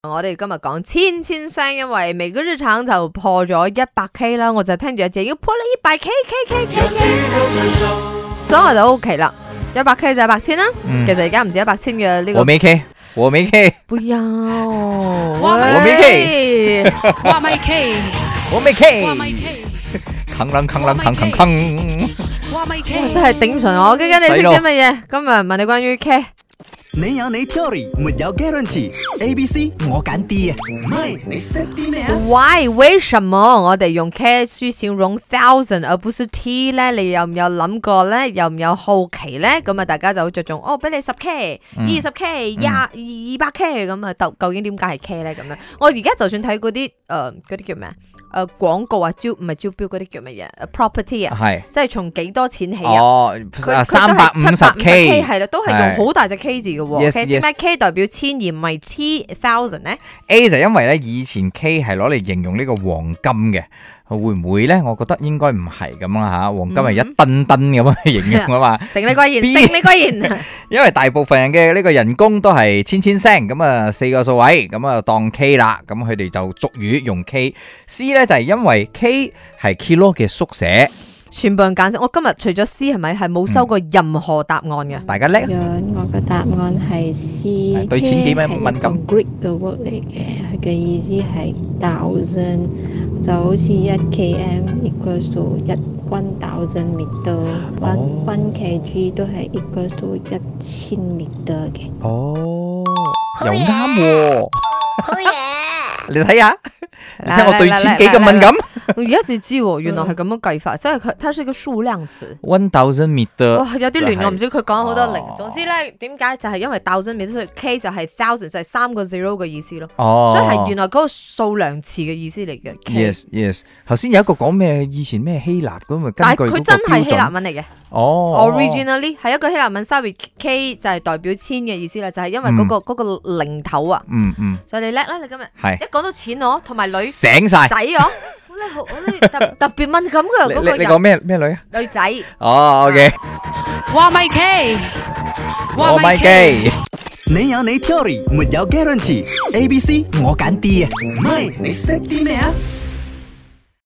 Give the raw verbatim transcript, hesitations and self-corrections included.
我哋今日講千千聲，因為每個日常就破咗一百 K 啦，我就聽住阿姐要破你一百 K K K K， 所以我就 OK 啦，一百 K 就一百千啦。嗯、其實而家唔止一百千嘅呢個。我沒 K， 我沒 K， 不要， 我沒 K， 我沒 K， 我沒 K， 我沒 K， 扛啷扛啷扛扛扛， 我沒 K， 我真係頂唔順我。究竟你識啲乜嘢？今日問你關於 K。 你有你 theory， 沒有 guarantee。A B C 我揀 D 啊，唔係你識啲咩啊 ？Why？ 為什麼我哋用 K 去形容 thousand 而不是 T 咧？你有唔有諗過咧？有唔有好奇咧？咁啊，大家就好着重哦，俾你十 K、二十 K、廿二百 K 咁啊，究究竟點解係 K 咧？咁樣，我而家就算睇嗰啲誒嗰啲叫咩啊？誒廣告啊，招唔係招標嗰啲叫乜嘢 ？property 啊，係即係從幾多錢起啊？ 哦，三百五十 K 係啦，都係用好大隻 K 字嘅喎。點解 K 代表千而唔係 T thousand 咧 ？A 就因為咧以前 K 係攞嚟形容呢個黃金嘅，會唔會咧？我覺得應該唔係咁啦嚇，黃金係一噸噸咁樣去形容啊嘛。 成你貴言，成你貴言。 因為大部分人嘅呢個人工都係千千聲，咁啊四個數位，咁啊當 K 啦，咁佢哋就俗語用 K。C 咧就係因為 K 係 kilo 嘅縮寫。 全部人揀我今日除咗 C 係咪係冇收過任何答案嘅、嗯？ 大家叻。 我嘅答案係 C。 對錢幾咩敏感 ？Greek 嘅 word 嚟嘅，佢嘅意思係 thousand， 就好似一 km equals to 一 one thousand meter，one one kg 都係 equals to 一千 meter 嘅。 哦，又啱喎。好嘢！你睇下，你睇我對錢幾咁敏感。 我而家就知喎，原來係咁樣計法，即係佢，它是一個數量詞。 one thousand meter。哇， 有啲亂，我唔知佢講好多零。總之咧，點解就係因為 thousand meter K 就係 thousand 就係三個 zero 嘅意思咯。哦。所以係原來嗰個數量詞嘅意思嚟嘅。 Yes yes。頭先有一個講咩？以前咩希臘咁啊？ 但係佢真係希臘文嚟嘅。 哦。 Originally 係一個希臘文 ，sorry K 就係代表千嘅意思啦，就係因為嗰個嗰個零頭啊。嗯嗯。所以你叻啦，你今日。係。一講到錢我同埋女。 醒晒。 仔我。你好，你特特別敏感嘅嗰個人。 你講咩咩女啊？ 女仔。 哦 ，OK。 我咪 K， 我咪 K。 你有你 theory， 沒有 guarantee。A B C 我揀 D 啊，唔係你識啲咩啊？